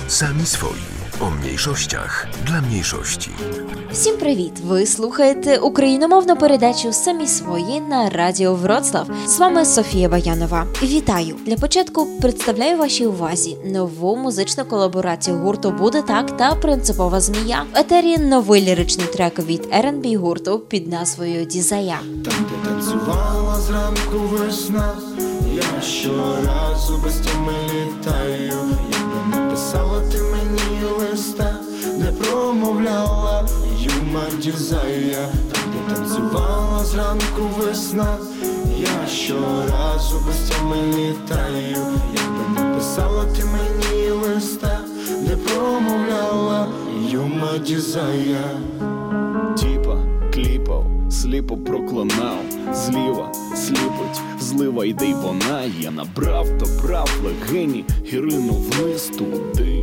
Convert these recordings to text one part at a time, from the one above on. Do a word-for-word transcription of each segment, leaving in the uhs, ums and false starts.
Самі свої. О mniejszościach для mniejszości. Всім привіт! Ви слухаєте україномовну передачу «Самі свої» на Радіо Вроцлав. З вами Софія Баянова. Вітаю! Для початку представляю вашій увазі нову музичну колаборацію гурту «Буде так» та «Принципова змія». В етері новий ліричний трек від ер енд бі гурту під назвою «Дізая». Там, де танцювала зранку весна, я щоразу без тями літаю. Якби написала ти мені листа, не промовляла юма дізая. Там, де танцювала зранку весна, я щоразу без тями літаю. Якби написала ти мені листа, не промовляла юма дізая. Тіпа, кліпав, сліпо проклинав, зліва сліпить, злива йде й вона. Я набрав, добрав легені і ринув вниз туди,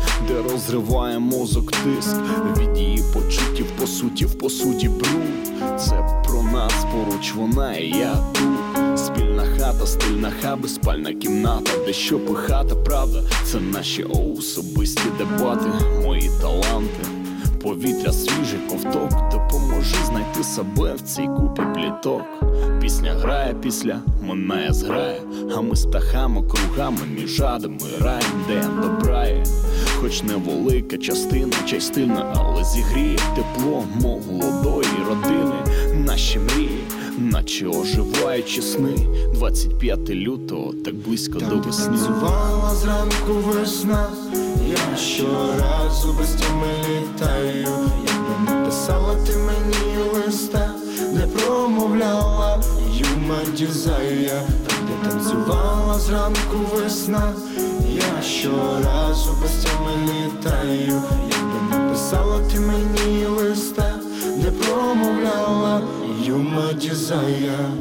де розриває мозок тиск від її почуттів, по суті, в посуді бруд. Це про нас, поруч вона і я тут. Спільна хата, стильна хаби, спальна кімната, де що пихата, правда, це наші особисті дебати, мої таланти. Повітря свіже, ковток, допоможи знайти себе в цій купі пліток. Пісня грає після, минає зграє, а ми стахами, кругами між адами раєм, де добрає. Хоч невелика частина, чай стильна, але зігріє тепло молодої родини. Наші мрії, наче оживаючі сни. двадцять п'яте лютого, так близько Там, до весни. Там, де танцювала зранку весна, я щоразу без тями літаю. Якби написала ти мені листа, не промовляла юма дізая. Там, де танцювала зранку весна, я щоразу без тями літаю. Якби написала ти мені листа, не промовляла юма дізая.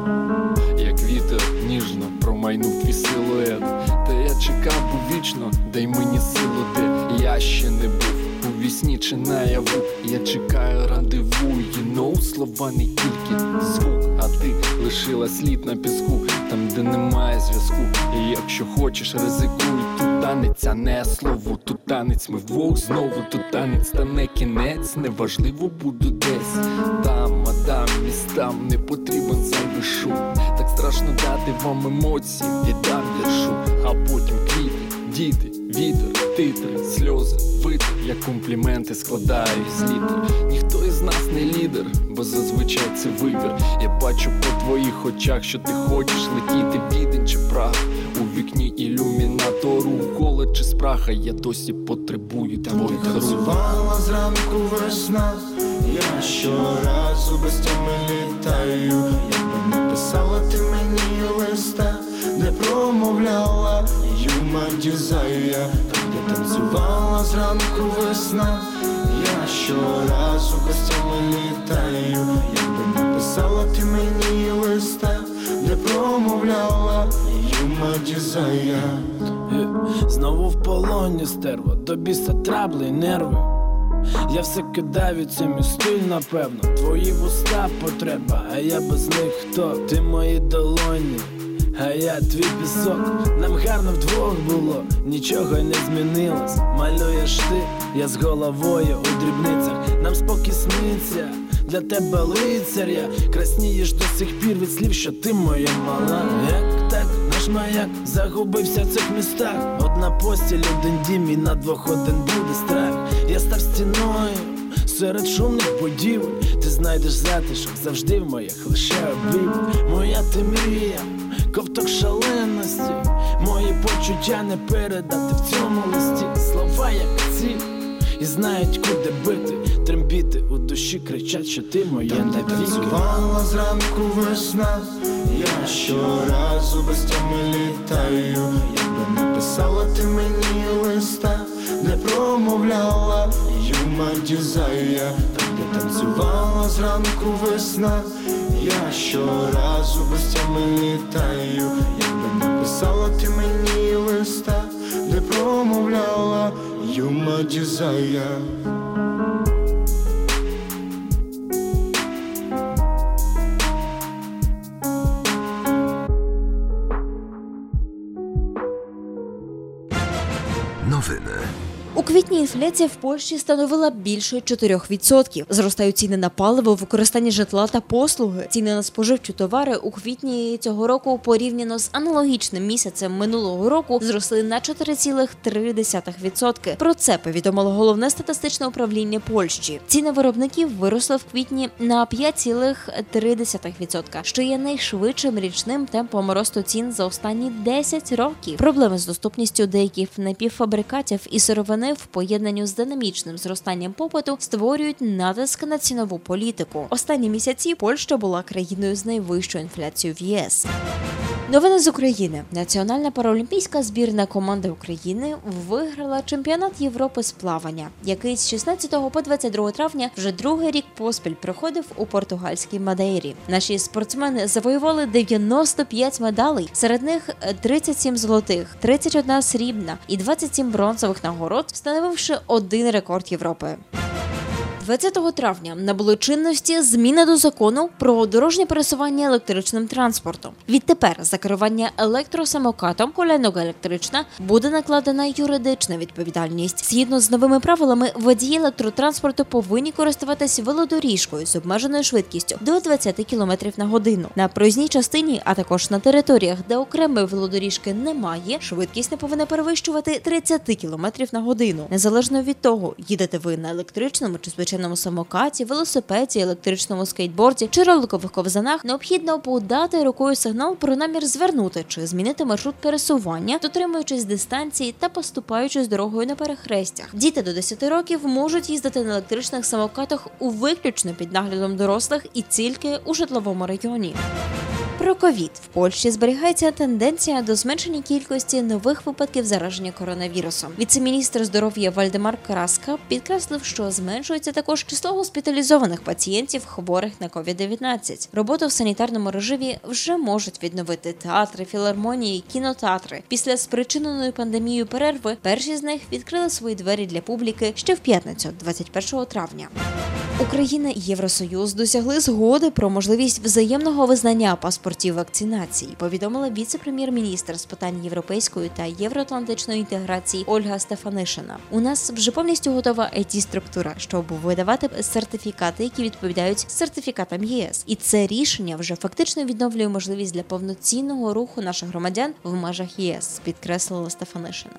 Як вітер ніжно промайнув твій силует, та я чекав був вічно, дай мені силу, де я ще не був у вісні чи наяву. Я чекаю рандеву, you know, слова не тільки звук, а ти лишила слід на піску, там де немає зв'язку. І якщо хочеш, ризикуй, тут танець, а не слово, тут танець, ми вдвох знову, тут танець, та не кінець, неважливо буду десь там, а там містам не потрібен зайвий шум. Так страшно дати вам емоції, віддам віршу, а потім квіти, діти, вітер, титри, сльози, витер. Я компліменти складаю з літер. Ніхто із нас не лідер, бо зазвичай це вибір. Я бачу по твоїх очах, що ти хочеш летіти в Відень чи Прагу. У вікні ілюмінатору, коледж чи спраха, я досі потребую твоїх рук. Танцювала зранку весна, я щоразу без тями літаю. Якби написала ти мені листа, не промовляла юма дізая. Там, де танцювала зранку весна, я щоразу без тями літаю. Якби написала ти мені листа, не промовляла юма дізая. Знову в полоні стерва, до біса трабли й нерви. Я все кидаю, це мій стиль, напевно. Твої вуста потреба, а я без них хто? Ти мої долоні, а я твій пісок. Нам гарно вдвох було, нічого й не змінилось. Малюєш ти, я з головою у дрібницях. Нам спокій сниться, для тебе лицар я. Краснієш до сих пір від слів, що ти моя мала. Як так, наш маяк загубився в цих містах. Одна постіль, один дім і на двох один буде страх. Я став стіною серед шумних будівель. Ти знайдеш затишок завжди в моїх лише обіймах. Моя ти мрія, ковток шаленості. Мої почуття не передати в цьому листі. Слова як ці, і знають куди бити. Трембіти у душі кричать, що ти моя Там, де танцювала зранку весна, я щоразу без тями літаю. Якби написала ти мені листа, не промовляла юма дізая. Там, де танцювала зранку весна, я щоразу без тями літаю. Якби написала ти мені листа, не промовляла юма дізая. Новини. У квітні інфляція в Польщі становила більше чотирьох відсотків. Зростають ціни на паливо, використання житла та послуги. Ціни на споживчі товари у квітні цього року порівняно з аналогічним місяцем минулого року зросли на чотири цілих три десятих відсотка. Про це повідомило Головне статистичне управління Польщі. Ціни виробників виросли в квітні на п'ять цілих три десятих відсотка, що є найшвидшим річним темпом росту цін за останні десять років. Проблеми з доступністю деяких напівфабрикатів і сировини в поєднанні з динамічним зростанням попиту створюють натиск на цінову політику. Останні місяці Польща була країною з найвищою інфляцією в ЄС. Новини з України. Національна паралімпійська збірна команда України виграла чемпіонат Європи з плавання, який з шістнадцятого по двадцять другого травня вже другий рік поспіль проходив у португальській Мадейрі. Наші спортсмени завоювали дев'яносто п'ять медалей, серед них тридцять сім золотих, тридцять одна срібна і двадцять сім бронзових нагород, встановивши один рекорд Європи. двадцятого травня набули чинності зміни до закону про дорожнє пересування електричним транспортом. Відтепер за керування електросамокатом колянога електрична буде накладена юридична відповідальність. Згідно з новими правилами, водії електротранспорту повинні користуватись велодоріжкою з обмеженою швидкістю до двадцять кілометрів на годину. На проїзній частині, а також на територіях, де окремої велодоріжки немає, швидкість не повинна перевищувати тридцять кілометрів на годину. Незалежно від того, їдете ви на електричному чи звичайному самокаті, велосипеді, електричному скейтборді чи роликових ковзанах, необхідно подати рукою сигнал про намір звернути чи змінити маршрут пересування, дотримуючись дистанції та поступаючись дорогою на перехрестях. Діти до десяти років можуть їздити на електричних самокатах у виключно під наглядом дорослих і тільки у житловому районі. Про ковід. В Польщі зберігається тенденція до зменшення кількості нових випадків зараження коронавірусом. Віце-міністр здоров'я Вальдемар Краска підкреслив, що зменшується також число госпіталізованих пацієнтів, хворих на ковід дев'ятнадцять. Роботу в санітарному режимі вже можуть відновити театри, філармонії, кінотеатри. Після спричиненої пандемією перерви перші з них відкрили свої двері для публіки ще в п'ятницю, двадцять першого травня. Україна і Євросоюз досягли згоди про можливість взаємного визнання паспортів вакцинації, повідомила віце-прем'єр-міністр з питань європейської та євроатлантичної інтеграції Ольга Стефанишина. У нас вже повністю готова ай ті-структура, щоб видавати сертифікати, які відповідають сертифікатам ЄС. І це рішення вже фактично відновлює можливість для повноцінного руху наших громадян в межах ЄС, підкреслила Стефанишина.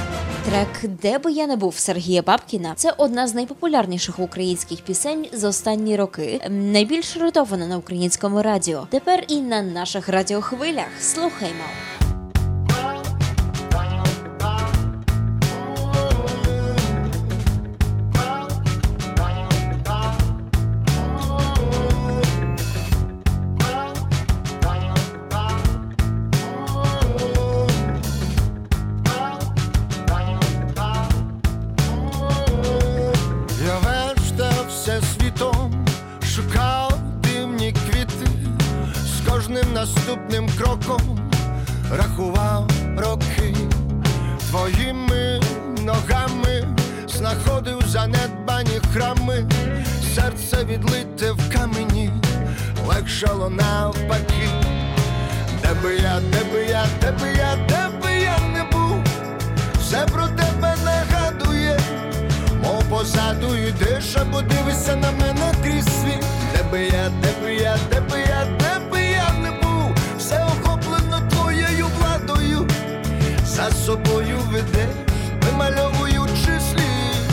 Трек «Де би я не був» Сергія Бабкіна – це одна з найпопулярніших українських пісень за останні роки, найбільш ротована на українському радіо. Тепер і на наших радіохвилях. Слухаймо. Наступним кроком рахував роки, твоїми ногами знаходив занедбані храми, серце відлите в камені, легшало навпаки. Де би я, де би я, де би я, де би я не був, все про тебе нагадує, мов позаду йдеш, або дивишся на мене крізь світ. Де би я, де би я, де би я, де би я не був, все охоплено твоєю владою, за собою ведеш, вимальовуючи слід.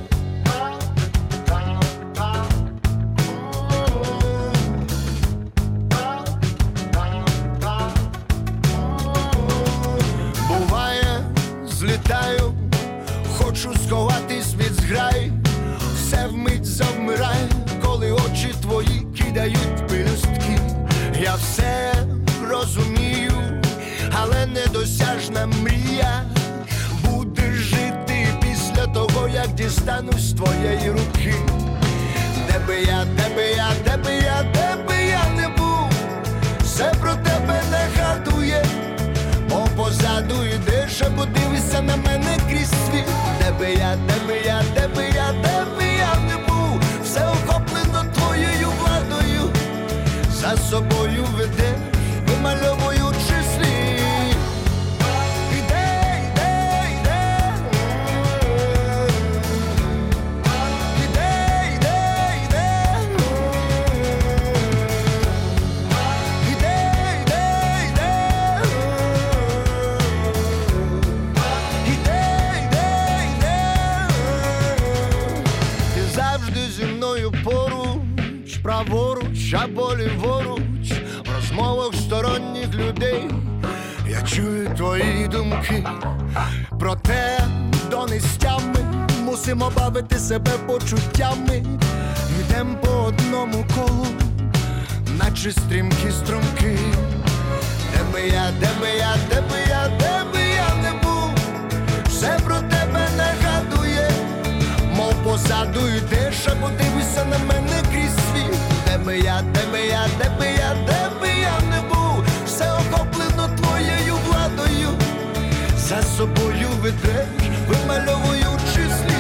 Буває, злітаю, хочу сховатись від зграї, все вмить завмирає, коли очі твої кидають пелюстки. Я все розумію, але недосяжна мрія буде жити після того, як дістанусь твоєї руки. Де би я, де би я, де би я, де би я не був, все про тебе нагадує, мов позаду йдеш, або дивишся на мене крізь світ. Де би я, де би я, де би я, де би я не був, все охоплено твоєю владою, за собою ведеш, вимальовуючи слід. Іде, іде, іде, а по ліворуч в розмовах сторонніх людей я чую твої думки про те, до нестями мусимо бавити себе почуттями. Йдем по одному колу, наче стрімкі струмки. Де би я, де би я, де би я, де би я не був, все про тебе нагадує, мов позаду йдеш, а подивися на мене крізь світ. Де би я, де би я, де би я, де би я не був, все охоплено твоєю владою, за собою ведеш, вимальовуючи слід.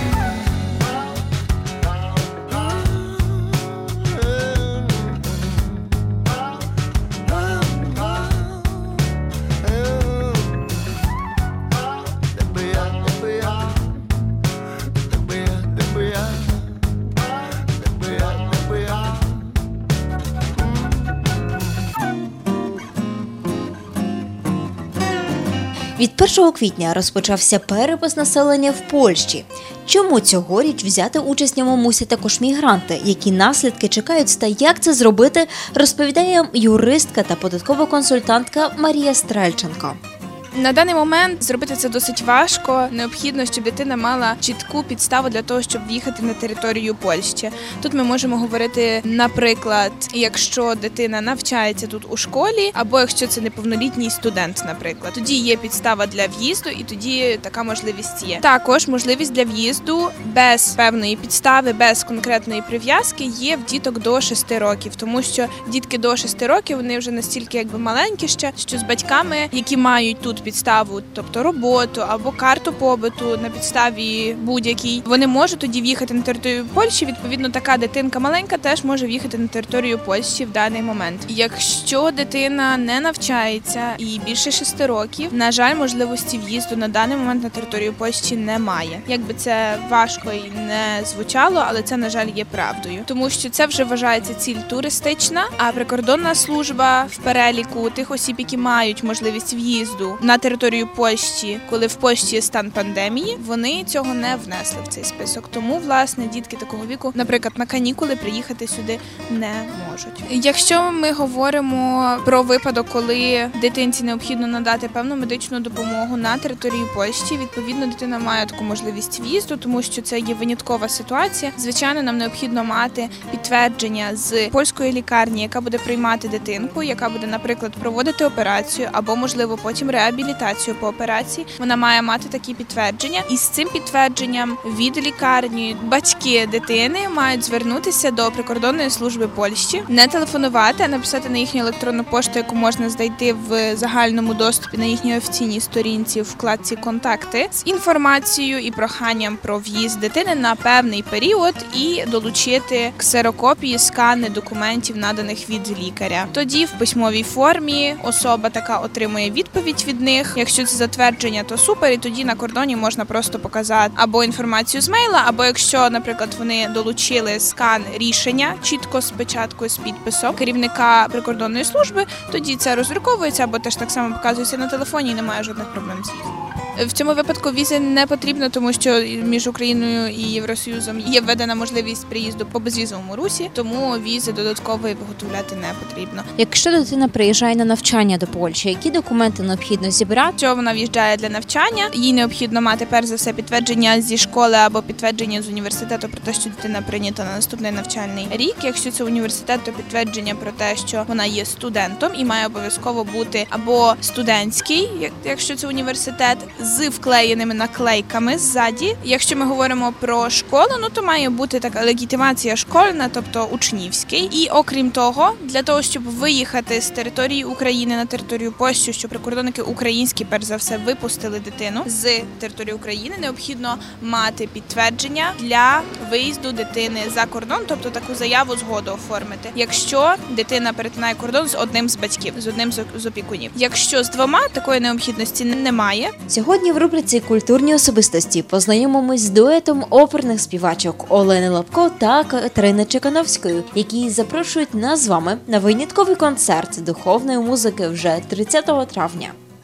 Від першого квітня розпочався перепис населення в Польщі. Чому цьогоріч взяти участь в ньому мусять також мігранти? Які наслідки чекають та як це зробити, розповідає юристка та податкова консультантка Марія Стрельченко. На даний момент зробити це досить важко. Необхідно, щоб дитина мала чітку підставу для того, щоб в'їхати на територію Польщі. Тут ми можемо говорити, наприклад, якщо дитина навчається тут у школі, або якщо це неповнолітній студент, наприклад. Тоді є підстава для в'їзду, і тоді така можливість є. Також можливість для в'їзду без певної підстави, без конкретної прив'язки є в діток до шести років, тому що дітки до шести років, вони вже настільки якби маленькі ще, що з батьками, які мають тут підставу, тобто роботу або карту побуту на підставі будь-якій, вони можуть тоді в'їхати на територію Польщі. Відповідно, така дитинка маленька теж може в'їхати на територію Польщі в даний момент. Якщо дитина не навчається і більше шести років, на жаль, можливості в'їзду на даний момент на територію Польщі немає. Якби це важко і не звучало, але це, на жаль, є правдою. Тому що це вже вважається ціль туристична, а прикордонна служба в переліку тих осіб, які мають можливість в'їзду на територію Польщі, коли в Польщі є стан пандемії, вони цього не внесли в цей список. Тому, власне, дітки такого віку, наприклад, на канікули приїхати сюди не можуть. Якщо ми говоримо про випадок, коли дитинці необхідно надати певну медичну допомогу на території Польщі, відповідно, дитина має таку можливість в'їзду, тому що це є виняткова ситуація. Звичайно, нам необхідно мати підтвердження з польської лікарні, яка буде приймати дитинку, яка буде, наприклад, проводити операцію або, можливо, потім реабілітацію. реабілітацію по операції, вона має мати такі підтвердження. І з цим підтвердженням від лікарні батьки дитини мають звернутися до прикордонної служби Польщі, не телефонувати, а написати на їхню електронну пошту, яку можна знайти в загальному доступі на їхній офіційній сторінці в вкладці «Контакти», з інформацією і проханням про в'їзд дитини на певний період і долучити ксерокопії, скани документів, наданих від лікаря. Тоді в письмовій формі особа така отримує відповідь від них. Якщо це затвердження, то супер, і тоді на кордоні можна просто показати або інформацію з мейла, або якщо, наприклад, вони долучили скан рішення чітко з печаткою, з підписом керівника прикордонної служби, тоді це роздруковується або теж так само показується на телефоні і немає жодних проблем з в'їздом. В цьому випадку візи не потрібно, тому що між Україною і Євросоюзом є введена можливість приїзду по безвізовому русі, тому візи додаткової виготовляти не потрібно. Якщо дитина приїжджає на навчання до Польщі, які документи необхідно зібрати? Якщо вона в'їжджає для навчання, їй необхідно мати перш за все підтвердження зі школи або підтвердження з університету про те, що дитина прийнята на наступний навчальний рік. Якщо це університет, то підтвердження про те, що вона є студентом і має обов'язково бути або студентський, якщо це університет, з вклеєними наклейками ззаді. Якщо ми говоримо про школу, ну то має бути така легітимація школьна, тобто учнівський. І окрім того, для того, щоб виїхати з території України на територію Польщі, щоб прикордонники українські, перш за все, випустили дитину з території України, необхідно мати підтвердження для виїзду дитини за кордон, тобто таку заяву згоду оформити. Якщо дитина перетинає кордон з одним з батьків, з одним з опікунів. Якщо з двома, такої необхідності немає. Сьогодні в рубриці «Культурні особистості» познайомимось з дуетом оперних співачок Олени Лапко та Катерини Чекановської, які запрошують нас з вами на винятковий концерт духовної музики вже тридцятого травня.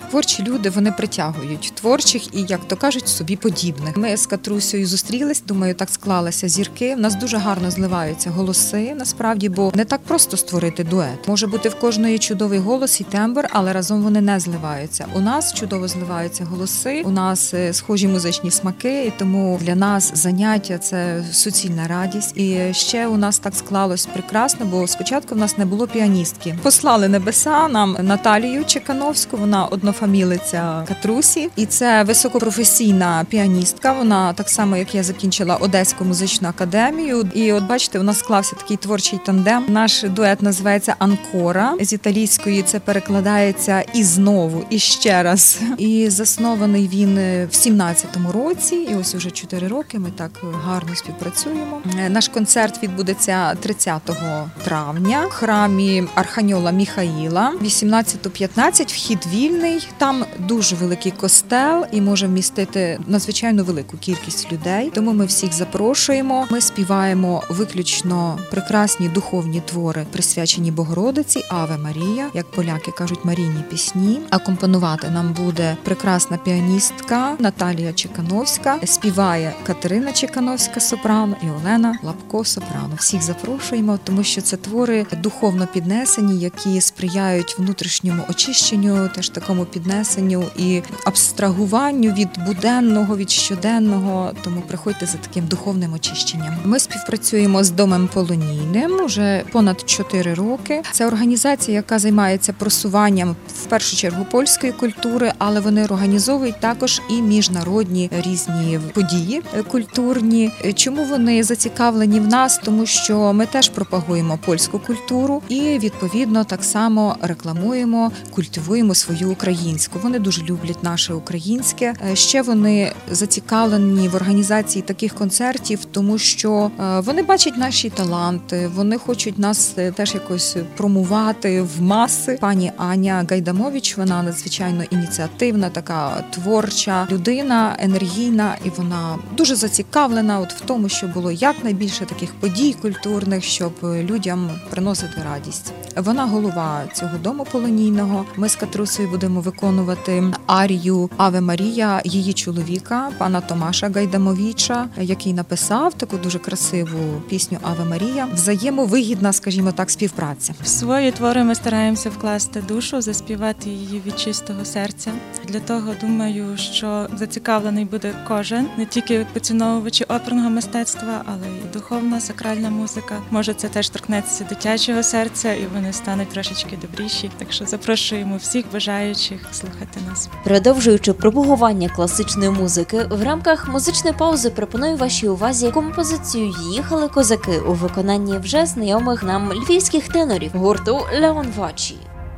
Творчі люди, вони притягують творчих і, як то кажуть, собі подібних. Ми з Катрусею зустрілись, думаю, так склалися зірки. У нас дуже гарно зливаються голоси, насправді, бо не так просто створити дует. Може бути в кожної чудовий голос і тембр, але разом вони не зливаються. У нас чудово зливаються голоси, у нас схожі музичні смаки, і тому для нас заняття – це суцільна радість. І ще у нас так склалось прекрасно, бо спочатку в нас не було піаністки. Послали небеса нам Наталію Чекановську, вона однофамілиця Катрусі, і це високопрофесійна піаністка. Вона так само, як я, закінчила Одеську музичну академію. І от бачите, у нас склався такий творчий тандем. Наш дует називається «Анкора». З італійської це перекладається «і знову», «і ще раз». І заснований він в сімнадцятому році, і ось уже чотири роки ми так гарно співпрацюємо. Наш концерт відбудеться тридцятого травня в храмі Арханьола Міхаїла. вісімнадцята п'ятнадцять, вхід вільний. Там дуже великий костел і може вмістити надзвичайно велику кількість людей. Тому ми всіх запрошуємо. Ми співаємо виключно прекрасні духовні твори, присвячені Богородиці, Аве Марія, як поляки кажуть, марійні пісні. Акомпонувати нам буде прекрасна піаністка Наталія Чекановська, співає Катерина Чекановська сопрано і Олена Лапко сопрано. Всіх запрошуємо, тому що це твори духовно піднесені, які сприяють внутрішньому очищенню, теж такому піднесенню і абстрагуванню від буденного, від щоденного. Тому приходьте за таким духовним очищенням. Ми співпрацюємо з Домом Полонійним вже понад чотири роки. Це організація, яка займається просуванням в першу чергу польської культури, але вони організовують також і міжнародні різні події культурні. Чому вони зацікавлені в нас? Тому що ми теж пропагуємо польську культуру і, відповідно, так само рекламуємо, культивуємо свою українську. Вони дуже люблять наше українське. Ще вони зацікавлені в організації таких концертів, тому що вони бачать наші таланти, вони хочуть нас теж якось промувати в маси. Пані Аня Гайдамович, вона надзвичайно ініціативна, така творча людина, енергійна, і вона дуже зацікавлена от в тому, щоб було якнайбільше таких подій культурних, щоб людям приносити радість. Вона голова цього дому полонійного. Ми з Катрусею будемо виконувати арію «Аве Марія» її чоловіка, пана Томаша Гайдамовіча, який написав таку дуже красиву пісню «Аве Марія». Взаємовигідна, скажімо так, співпраця. В свої твори ми стараємося вкласти душу, заспівати її від чистого серця. Для того, думаю, що зацікавлений буде кожен, не тільки поціновувачі оперного мистецтва, але й духовна, сакральна музика. Може, це теж торкнеться дитячого серця, і вони стануть трошечки добріші. Так що запрошуємо всіх бажаючих слухати нас. Продовжуючи пропагування класичної музики, в рамках музичної паузи пропоную вашій увазі композицію «Їхали козаки» у виконанні вже знайомих нам львівських тенорів гурту Леон Вачі.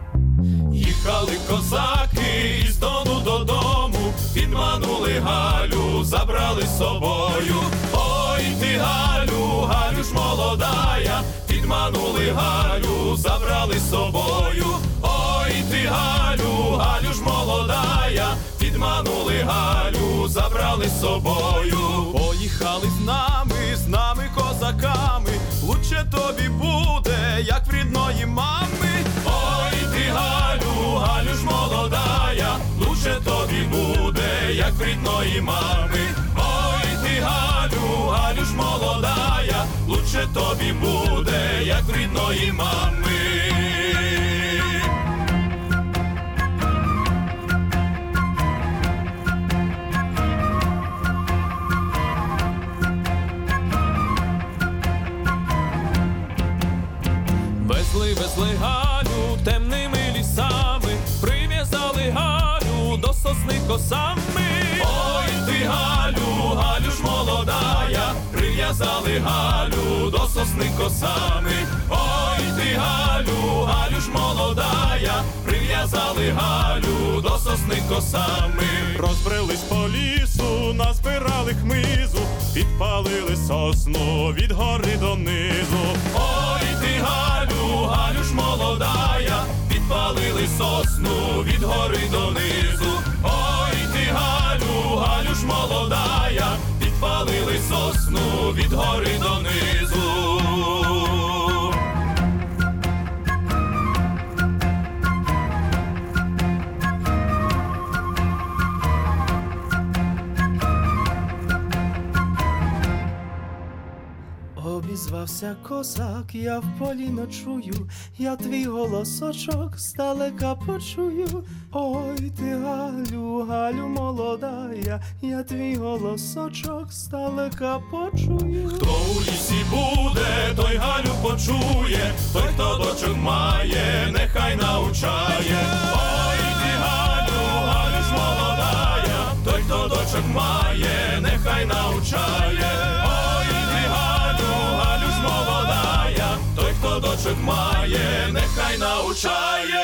Їхали козаки із Дону додому, підманули Галю, забрали з собою. Ой ти, Галю, Галю ж молодая, підманули Галю, забрали з собою. Ой ти, Галю, Галю ж молодая, підманули Галю, забрали з собою. Поїхали з нами, з нами козаками, лучше тобі буде, як в рідної мами. Ой ти, Галю, Галю ж молодая, лучше тобі буде, як в рідної мами. Ой ти, Галю, Галю ж молодая, лучше тобі буде, як в рідної мами. Везли, везли Галю темними лісами, прив'язали Галю до сосни косами. Ой ти, Галю, Галю ж молодая, прив'язали Галю до сосни косами. Ой ти, Галю, Галю ж молодая, прив'язали Галю до сосни косами. Розбрелись по лісу, назбирали хмизу, підпалили сосну від гори донизу. Ой ти, Галю, Галю ж молодая, підпалили сосну від гори донизу. Ой ти, Галю, Галю ж молодая, підпалили сосну від гори донизу. обізвався козак, я в полі ночую, я твій голосочок здалека почую. Ой, ти Галю, Галю молода, я, я твій голосочок здалека почую. Хто у лісі буде, той Галю почує, той, хто дочок має, нехай научає. Ой, ти Галю, Галю ж молодая, той, хто дочок має, нехай научає. Ой, ти Галю, Галю ж молодая, той, хто дочок має, нехай научає.